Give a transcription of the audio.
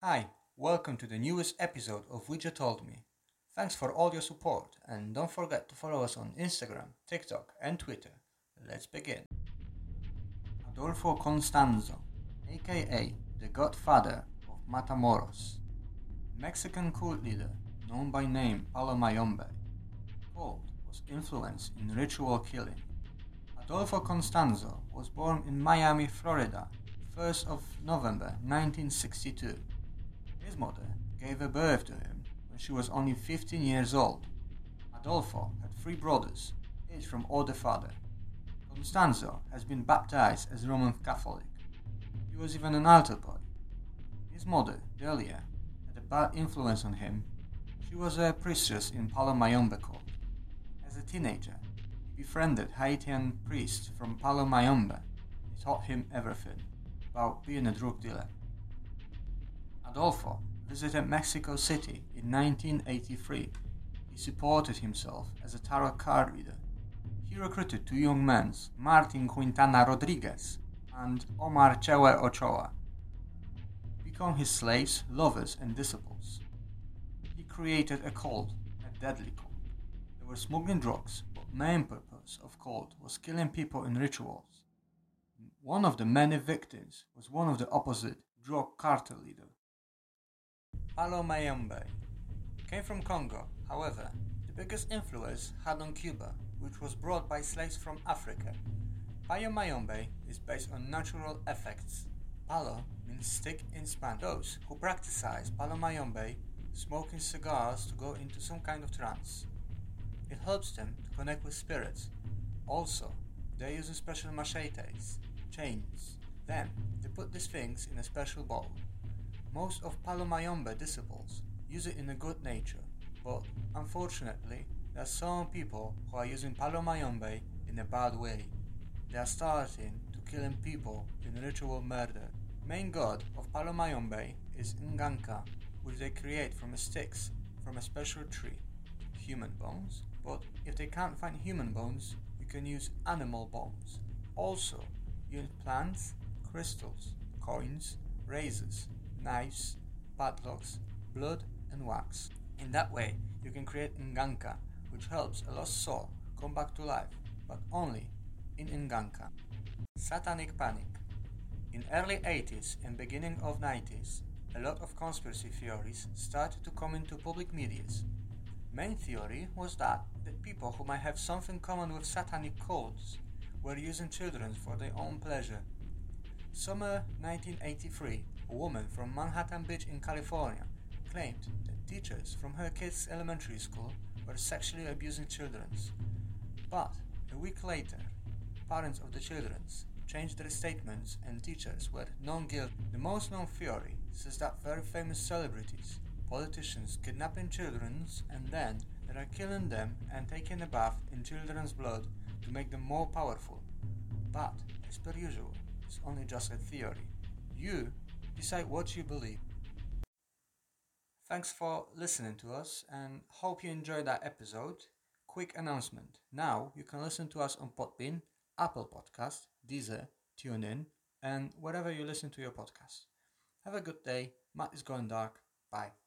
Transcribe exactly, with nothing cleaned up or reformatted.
Hi, welcome to the newest episode of Ouija Told Me. Thanks for all your support and don't forget to follow us on Instagram, TikTok and Twitter. Let's begin. Adolfo Constanzo, aka the Godfather of Matamoros, Mexican cult leader known by name Palo Mayombe. Cult was influenced in ritual killing. Adolfo Constanzo was born in Miami, Florida, first of November nineteen sixty-two. His mother gave a birth to him when she was only fifteen years old. Adolfo had three brothers, each from older father. Constanzo has been baptized as Roman Catholic. He was even an altar boy. His mother, Delia, had a bad influence on him. She was a priestess in Palo Mayombe cult. As a teenager, he befriended Haitian priest from Palo Mayombe. He taught him everything about being a drug dealer. Adolfo visited Mexico City in nineteen eighty-three. He supported himself as a tarot card reader. He recruited two young men, Martin Quintana Rodriguez and Omar Chewe Ochoa, to become his slaves, lovers, and disciples. He created a cult, a deadly cult. They were smuggling drugs, but main purpose of cult was killing people in rituals. One of the many victims was one of the opposite drug cartel leader. Palo Mayombe came from Congo. However, the biggest influence had on Cuba, which was brought by slaves from Africa. Palo Mayombe is based on natural effects. Palo means stick in Spanish. Those who practice Palo Mayombe smoking cigars to go into some kind of trance. It helps them to connect with spirits. Also, they're using special machetes, chains. Then, they put these things in a special bowl. Most of Palo Mayombe disciples use it in a good nature, but unfortunately, there are some people who are using Palo Mayombe in a bad way. They are starting to killing people in ritual murder. Main god of Palo Mayombe is Nganka, which they create from sticks from a special tree, human bones, but if they can't find human bones, you can use animal bones. Also, use plants, crystals, coins, razors, knives, padlocks, blood and wax. In that way, you can create Nganka, which helps a lost soul come back to life, but only in Nganka. Satanic panic. In early eighties and beginning of nineties, a lot of conspiracy theories started to come into public medias. Main theory was that the people who might have something common with satanic cults were using children for their own pleasure. Summer nineteen eighty-three, a woman from Manhattan Beach in California claimed that teachers from her kids' elementary school were sexually abusing children. But a week later, parents of the children changed their statements and teachers were non-guilty. The most known theory says that very famous celebrities, politicians kidnapping children and then they are killing them and taking a bath in children's blood to make them more powerful. But, as per usual, it's only just a theory. You decide what you believe. Thanks for listening to us and hope you enjoyed that episode. Quick announcement. Now you can listen to us on Podbean, Apple Podcast, Deezer, TuneIn, and wherever you listen to your podcast. Have a good day. Matt is going dark. Bye.